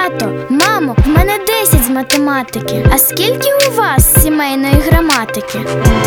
Тато, мамо, в мене 10 з математики. А скільки у вас сімейної граматики?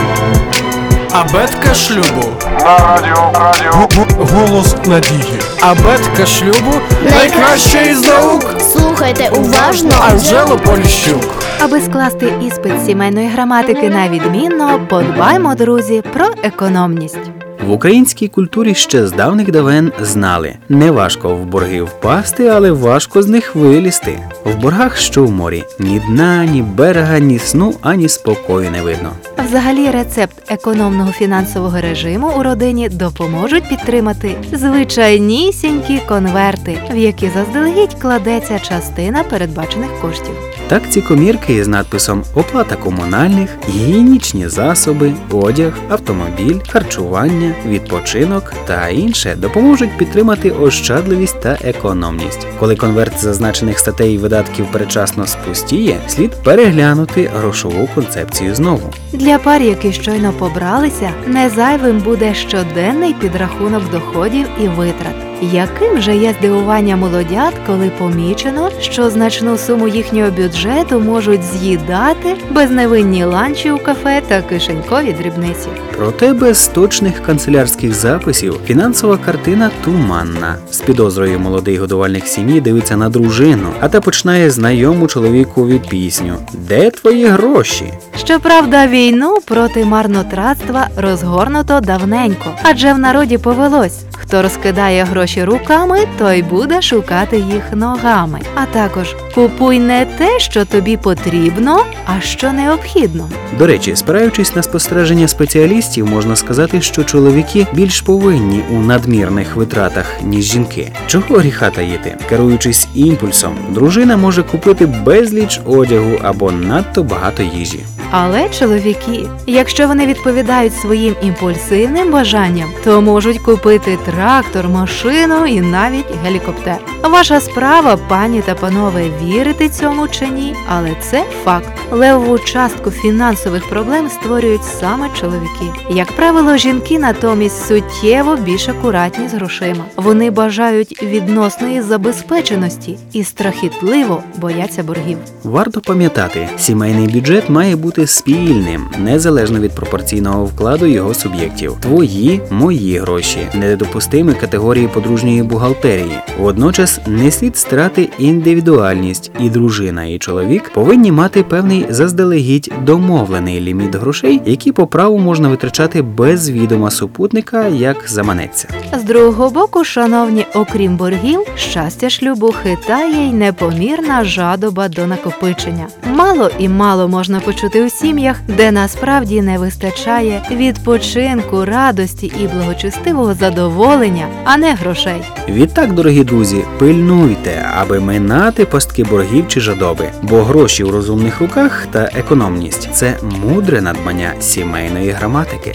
Абетка шлюбу. На радіо. Голос надії. Абетка шлюбу найкраща із наук. Слухайте уважно. Анжело Поліщук. Аби скласти іспит з сімейної граматики на відмінно, подбаймо, друзі, про економність. В українській культурі ще з давних давен знали – не важко в борги впасти, але важко з них вилізти. В боргах, що в морі, ні дна, ні берега, ні сну, ані спокою не видно. Взагалі, рецепт економного фінансового режиму у родині допоможуть підтримати звичайнісінькі конверти, в які заздалегідь кладеться частина передбачених коштів. Так ці комірки з надписом «Оплата комунальних», «Гігієнічні засоби», «Одяг», «Автомобіль», «Харчування», «Відпочинок» та інше допоможуть підтримати ощадливість та економність. Коли конверт зазначених статей і видатків передчасно спустіє, слід переглянути грошову концепцію знову. Для пар, які щойно побралися, не зайвим буде щоденний підрахунок доходів і витрат. Яким же є здивування молодят, коли помічено, що значну суму їхнього бюджету можуть з'їдати безневинні ланчі у кафе та кишенькові дрібниці. Проте без точних канцелярських записів фінансова картина туманна. З підозрою молодий годувальник сім'ї дивиться на дружину, а та починає знайому чоловікові пісню «Де твої гроші?». Щоправда, війну проти марнотратства розгорнуто давненько, адже в народі повелось: хто розкидає гроші руками, той буде шукати їх ногами. А також купуй не те, що тобі потрібно, а що необхідно. До речі, спираючись на спостереження спеціалістів, можна сказати, що чоловіки більш повинні у надмірних витратах, ніж жінки. Чого гріха таїти? Керуючись імпульсом, дружина може купити безліч одягу або надто багато їжі. Але чоловіки, якщо вони відповідають своїм імпульсивним бажанням, то можуть купити трактор, машину і навіть гелікоптер. Ваша справа, пані та панове, вірити цьому чи ні, але це факт. Левову частку фінансових проблем створюють саме чоловіки. Як правило, жінки натомість суттєво більш акуратні з грошима. Вони бажають відносної забезпеченості і страхітливо бояться боргів. Варто пам'ятати, сімейний бюджет має бути спільним, незалежно від пропорційного вкладу його суб'єктів. Твої, мої гроші – недопустимі категорії подружньої бухгалтерії. Водночас не слід страти індивідуальність, і дружина, і чоловік повинні мати певний заздалегідь домовлений ліміт грошей, які по праву можна витрачати без відома супутника, як заманеться. З другого боку, шановні, окрім боргів, щастя шлюбу хитає й непомірна жадоба до накопичення. Мало і мало можна почути у сім'ях, де насправді не вистачає відпочинку, радості і благочестивого задоволення, а не грошей. Відтак, дорогі друзі, пильнуйте, аби минати пастки боргів чи жадоби, бо гроші у розумних руках та економність – це мудре надбання сімейної граматики.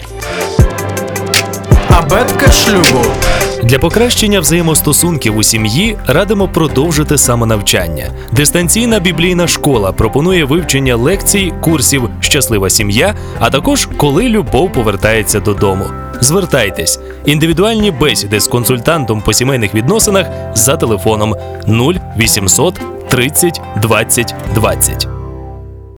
Абетка шлюбу. Для покращення взаємостосунків у сім'ї радимо продовжити самонавчання. Дистанційна біблійна школа пропонує вивчення лекцій, курсів «Щаслива сім'я», а також «Коли любов повертається додому». Звертайтесь. Індивідуальні бесіди з консультантом по сімейних відносинах за телефоном 0800 30 20 20.